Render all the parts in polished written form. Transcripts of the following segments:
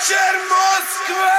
вечер, Москва!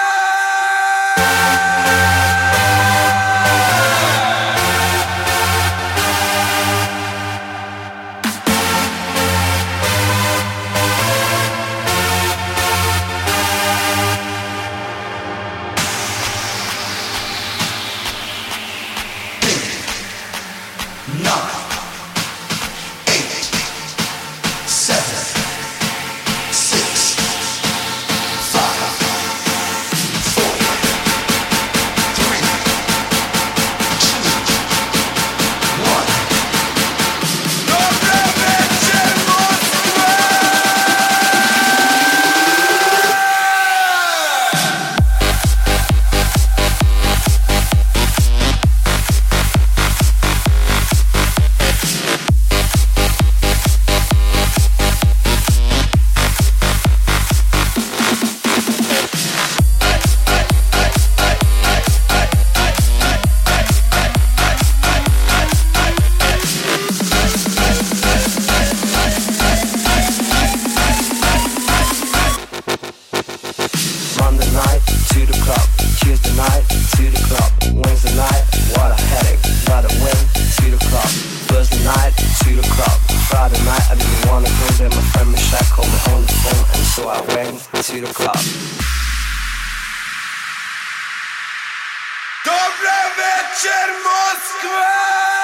Добрый вечер, Москва!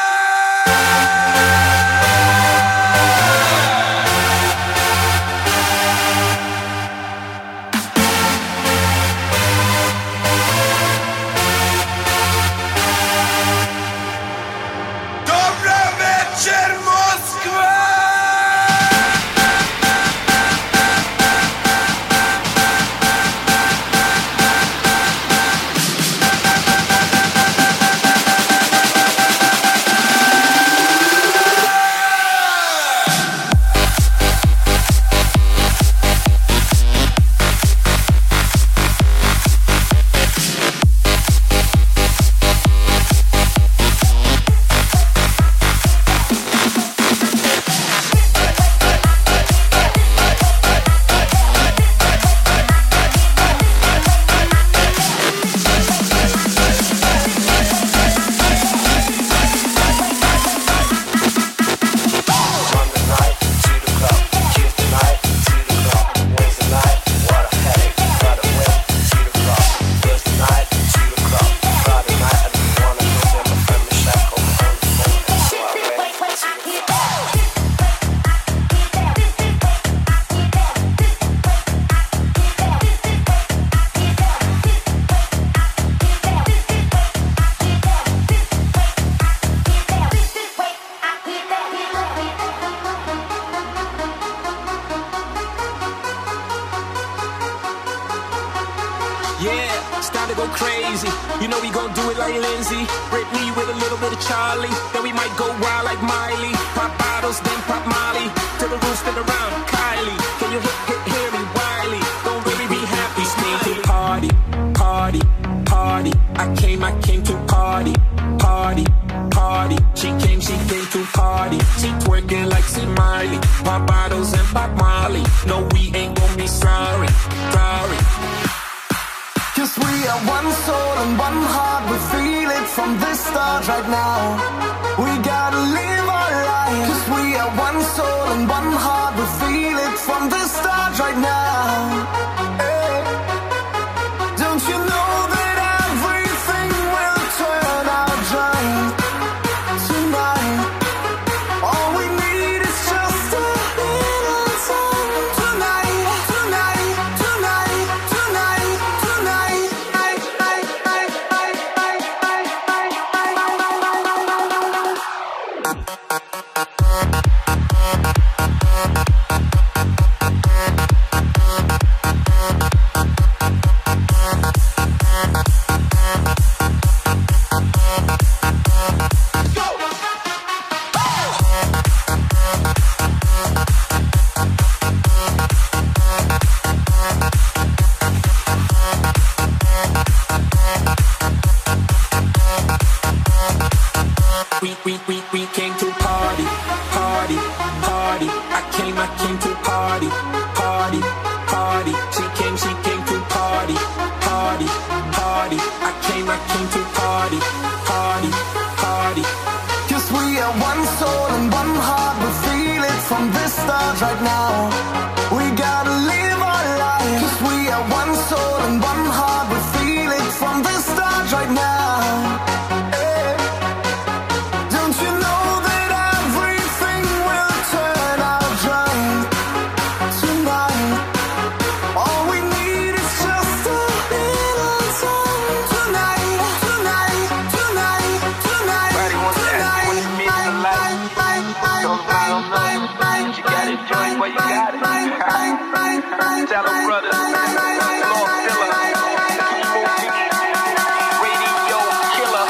Yeah, it's time to go crazy. You know we gon' do it like Lindsay, Britney with a little bit of Charlie. Then we might go wild like Miley. Pop bottles, then pop Molly. Till the room spin around, Kylie. Can you hear me, Wiley? Don't really be happy, sneaky. Party, party, party. I came to party, party, party. She came to party. She twerking like C. Miley. Pop bottles and pop Molly. No, we ain't gon' be sorry, sorry. 'Cause we are one soul and one heart. We feel it from the start right now. We gotta live our life. 'Cause we are one soul and one heart. We feel it from the start right now. Hey. Don't you know that everything will turn out right tonight? All we need is just a little time tonight, tonight, tonight, tonight, tonight. We came to party, party, party. I came to party, party, party. She came to stars right now. We gotta live our life, 'cause we are one soul and one heart. We feel it from the start right now. Hey. Don't you know that everything will turn out right tonight? All we need is just a little time tonight, tonight, tonight, tonight, Everybody wants to ask you what's the meaning of life. Don't blame them, but you gotta enjoy it while you got it. Tell them brothers, Lord Filler, Radio Killer.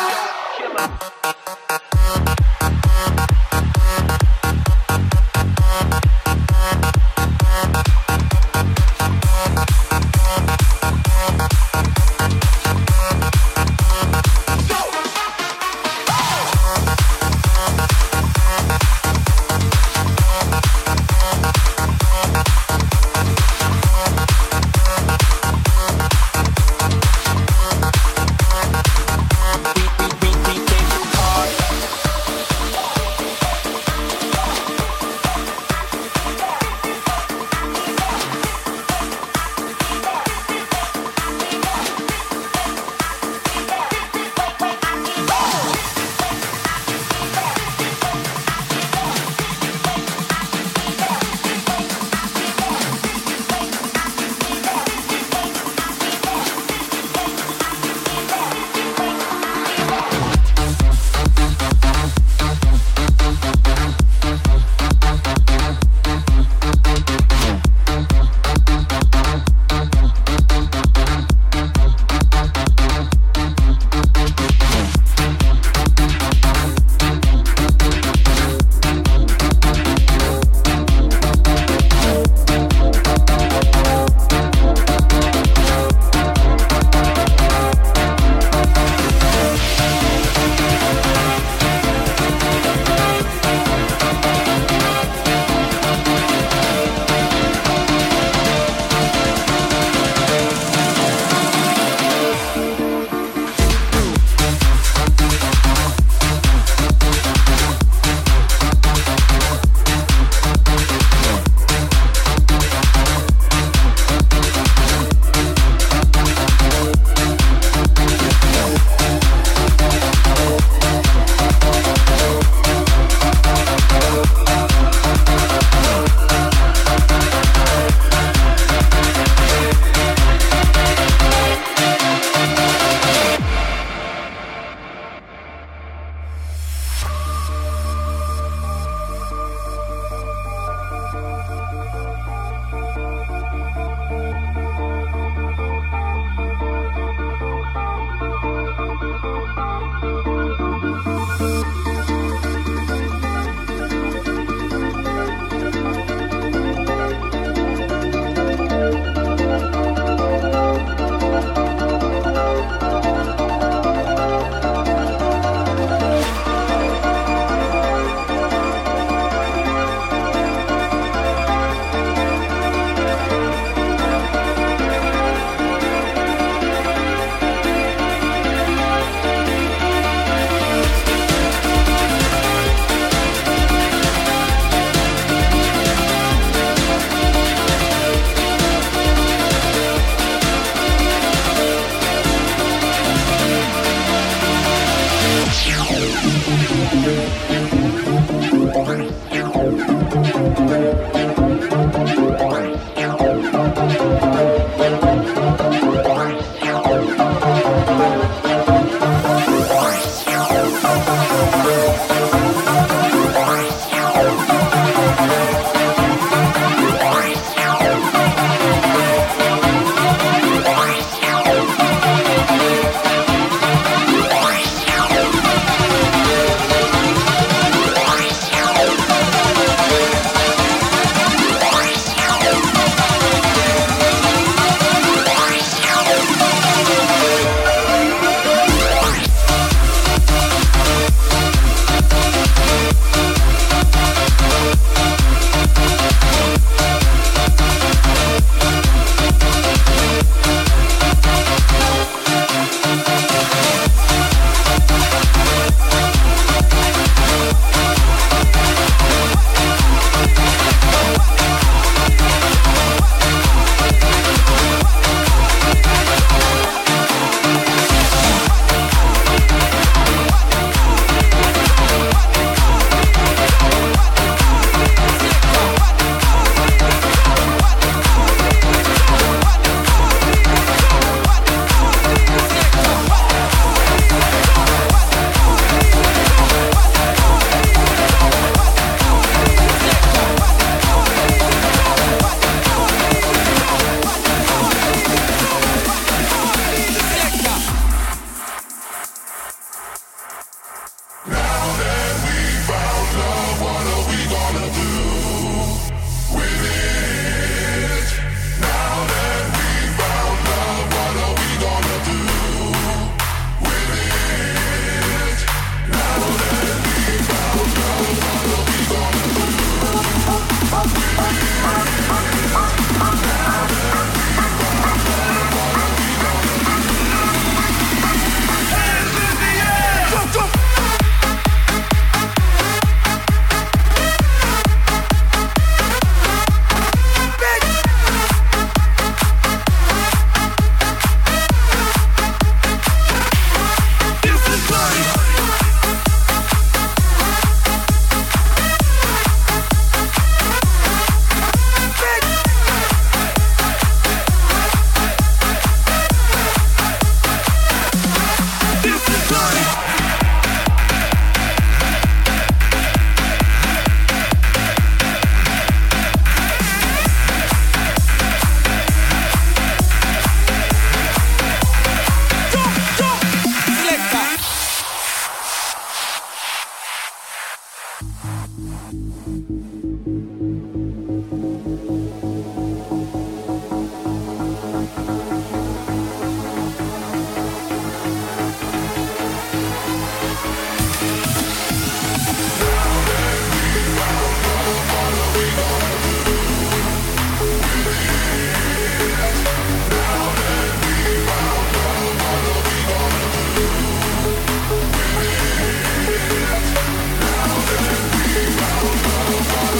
Follow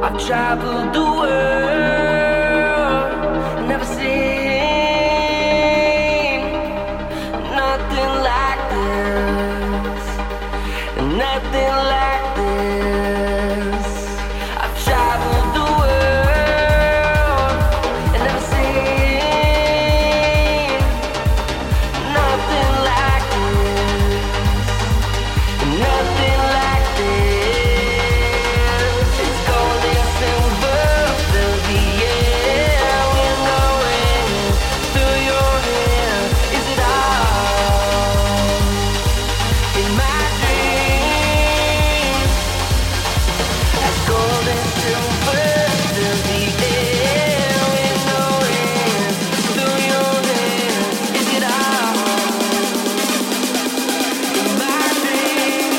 I've traveled the world, never seen nothing like this, nothing like this. I've traveled the world and never seen nothing like this, nothing like this. It's gold and silver, fill the air with no wind through your hair. Is it all in my dreams? As gold and silver, fill the air with no wind through your hair. Is it all in my dreams?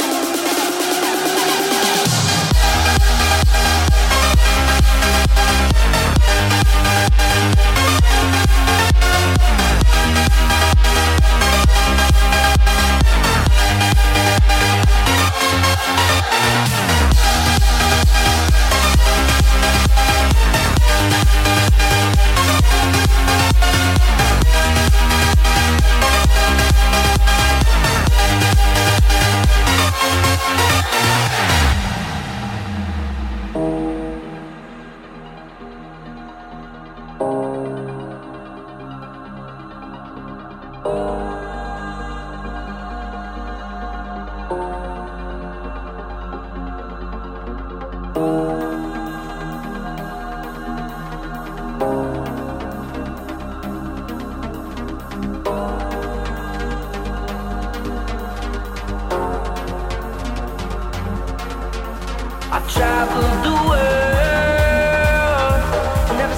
I've traveled the world, never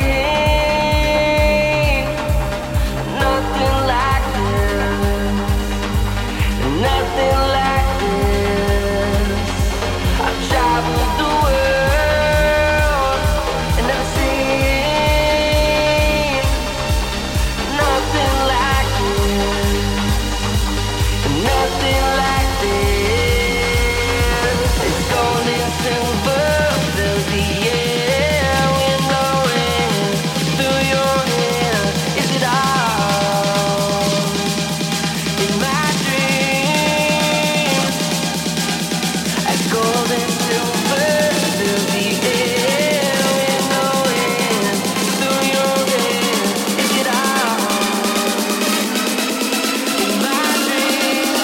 seen nothing like this, nothing like this. I've traveled the world and never seen nothing like this, nothing like this. It's gold and silver, fill the air with no wind through your hair. Is it all in my dreams? As gold and silver, fill the air with no wind through your hair. Is it all in my dreams?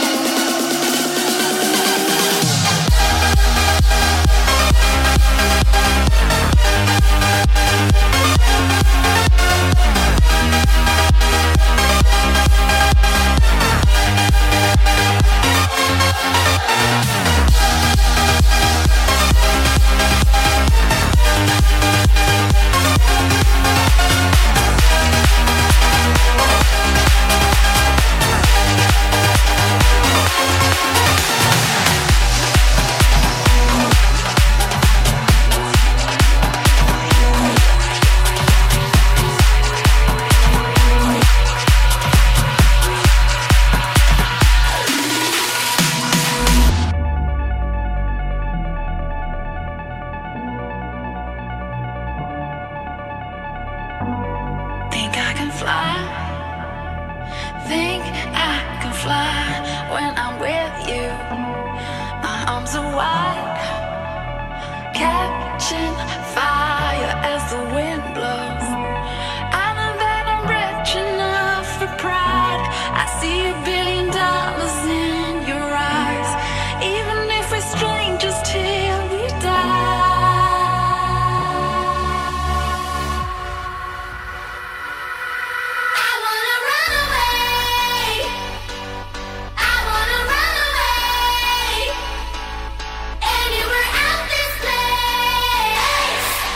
Think I can fly. Think I can fly when I'm with you. My arms are wide, catching fire as the wind blows. I know that I'm rich enough for pride. I see $1 billion in your eyes, even if we're strangers till we die. I wanna run away. I wanna run away. Anywhere out this place.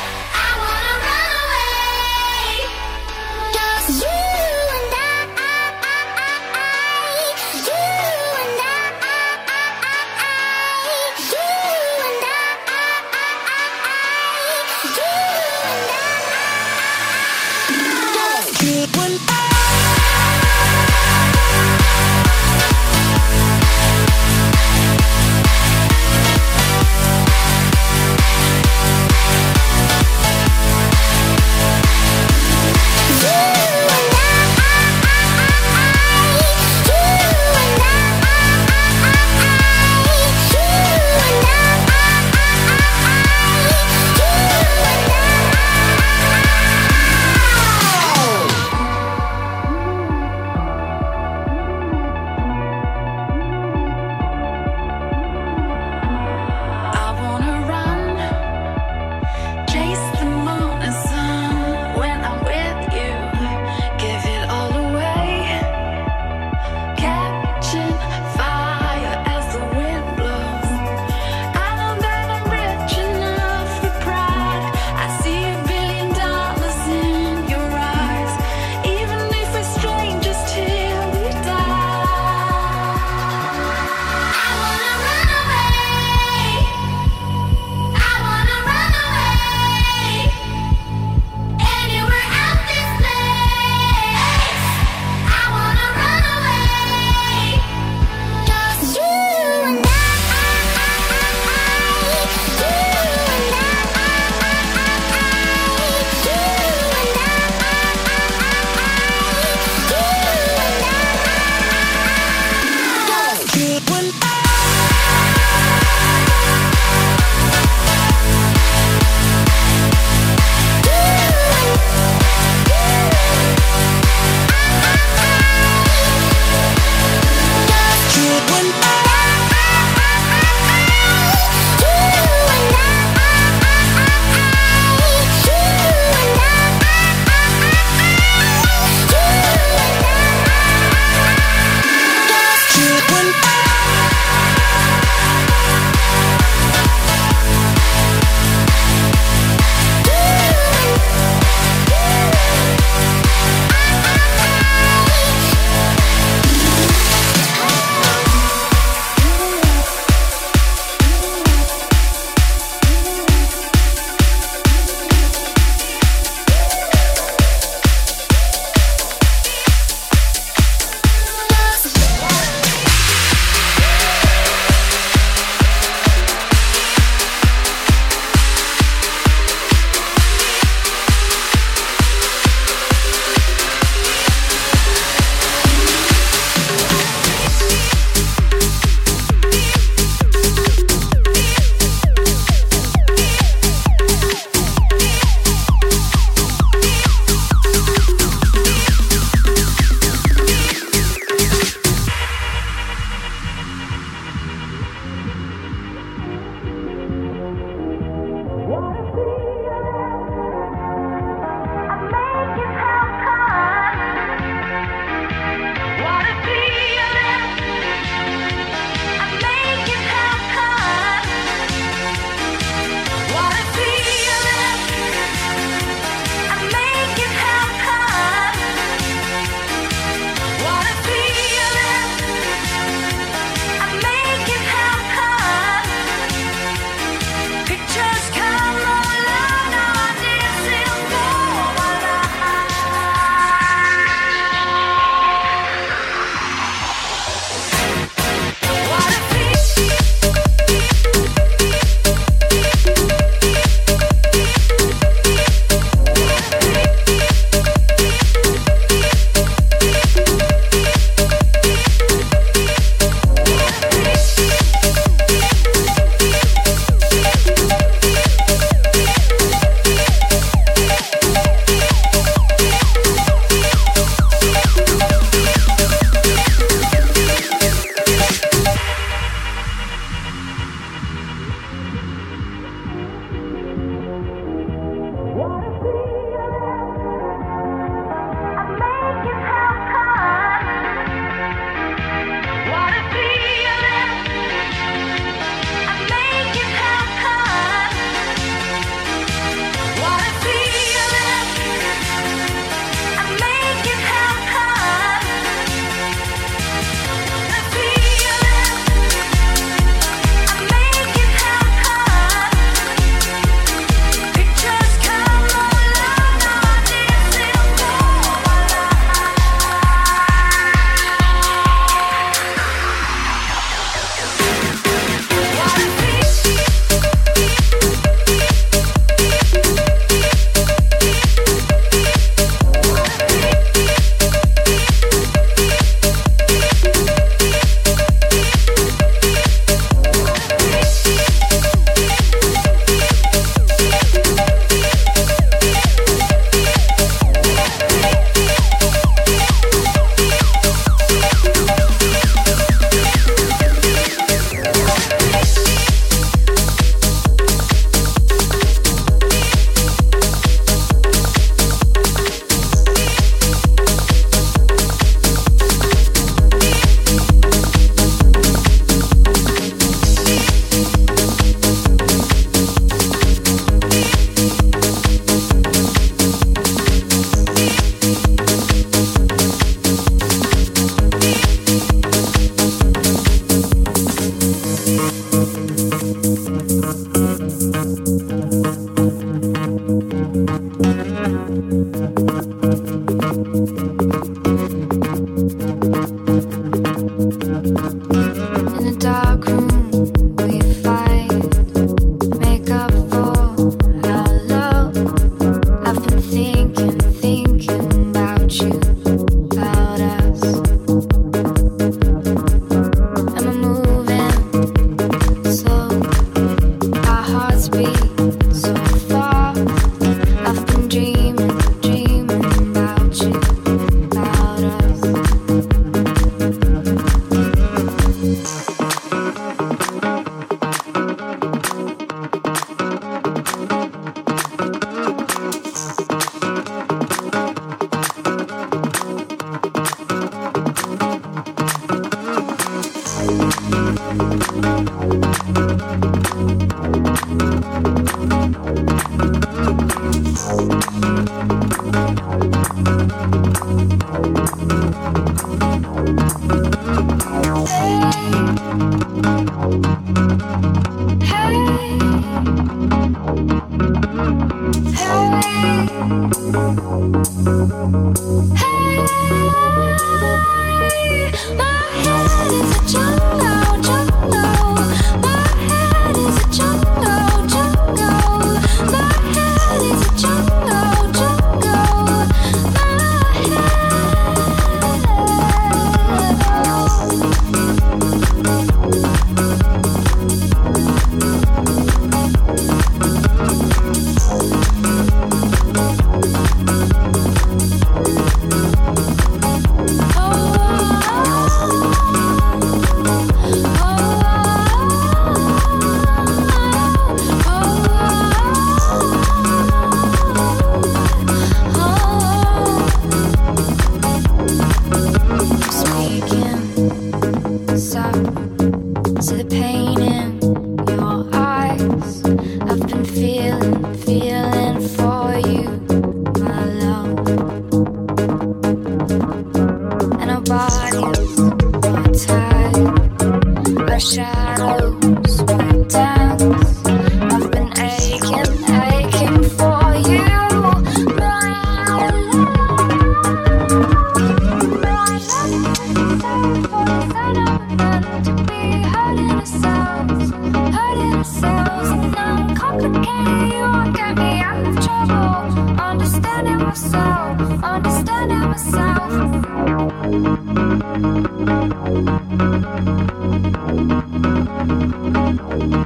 Understanding myself.